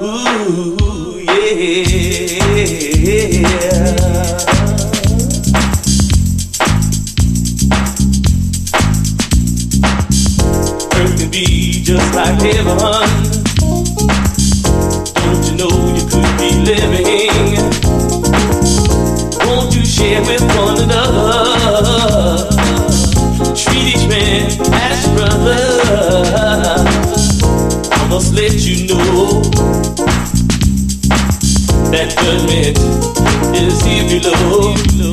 Ooh, yeah. Earth can be just like heaven. Don't you know you could be living? Won't you share with one another? Treat each man as your brother. I must let you know that judgment is here below.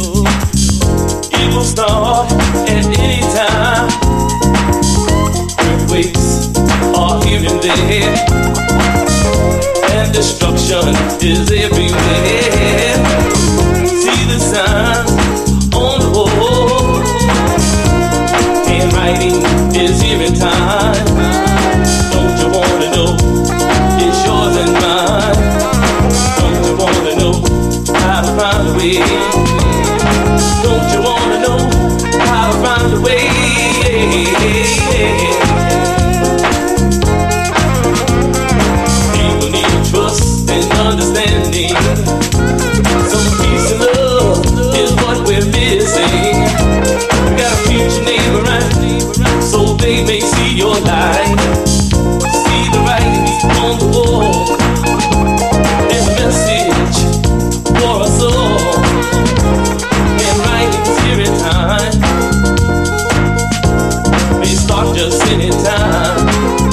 It will start at any time. Earthquakes are here and there, and destruction is everywhere. See the signs on the wall, handwriting is here in time. Don't you wanna know it's yours and mine? Don't you wanna know how to find a way? Don't you wanna know how to find a way? People need trust and understanding. Some peace and love is what we're missing. You gotta treat your neighbor right, so they may see your light. See the writing on the wall. There's a message for us all. And writing's here in time. May start just any time.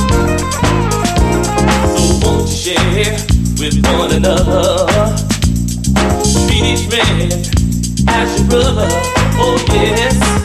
So won't you share with one another? Treat each man as your brother. Oh yes.